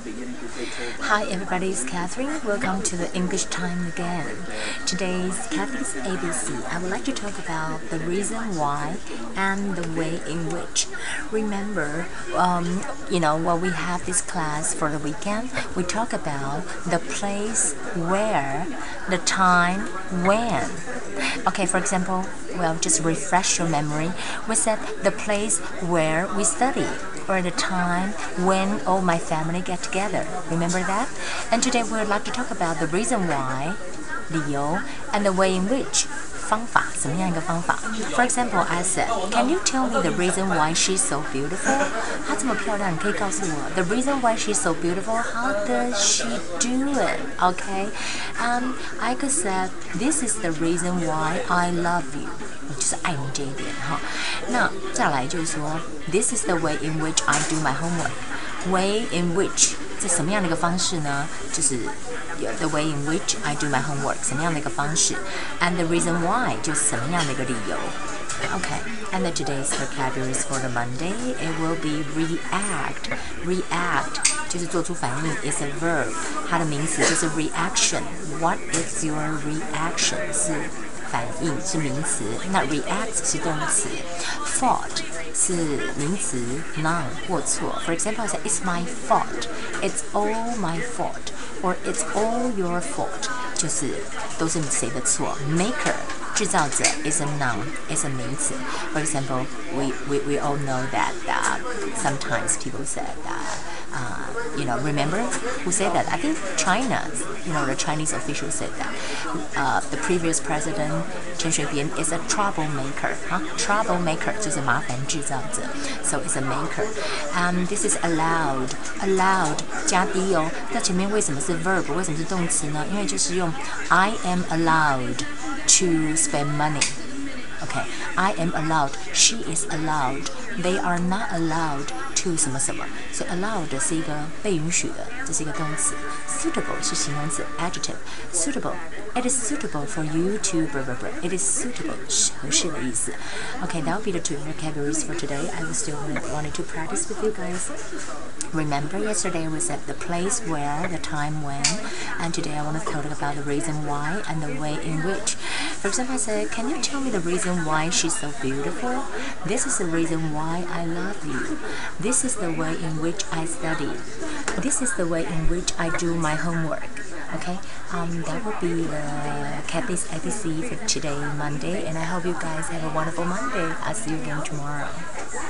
Hi everybody, it's Catherine. Welcome to the English time again. Today's Kathy's ABC. I would like to talk about the reason why and the way in which. Remember, when we have this class for the weekend, we talk about the place where, the time when. Okay, for example, just refresh your memory. We said the place where we study, or the time when all my family get together. Remember that? And today we would like to talk about the reason why, 理由 and the way in which, 方法，怎么样一个方法 For example, I said, can you tell me the reason why she's so beautiful? 她这么漂亮，你可以告诉我 the reason why she's so beautiful, how does she do it? Okay? I could say, this is the reason why I love you. 就是爱你这一点哈。那再来就是说 ，this is the way in which I do my homework. Way in which 这什么样的一个方式呢？就是 the way in which I do my homework 什么样的一个方式 ，and the reason why 就是什么样的一个理由。Okay, and today's vocabulary for the Monday it will be react. React 就是做出反应 is a verb， 它的名词就是 reaction. What is your reaction 是反应是名词，那 react 是动词 ，fault 是名词 noun 或错。For example, I say it's my fault, it's all my fault, or it's all your fault， 就是都是谁的错。Maker 制造者 is a noun, is a 名词。For example, we all know that sometimes people said remember who said that? I think China, the Chinese official said that the previous president Chen Shui-bian is a troublemaker. Troublemaker 就是麻烦制造者 ，so it's a maker. This is allowed. Allowed 加 d 哦，在前面为什么是 verb？ 为什么是动词呢？因为就是用 I am allowed to spend money. Okay, I am allowed. She is allowed. They are not allowed to 什么什么。所以 allowed 是一个被允许的，这是一个动词。Suitable 是形容词 adjective. Suitable. It is suitable for you to blah blah blah. It is suitable 合适的意思。Okay, that will be the two vocabularies for today. I was still wanted to practice with you guys. Remember yesterday we said the place where, the time when, and today I want to talk about the reason why and the way in which. For example, I said, can you tell me the reason why she's so beautiful? This is the reason why I love you. This is the way in which I study. This is the way in which I do my homework. Okay, that will be the Kathy's ABC for today, Monday, and I hope you guys have a wonderful Monday. I'll see you again tomorrow.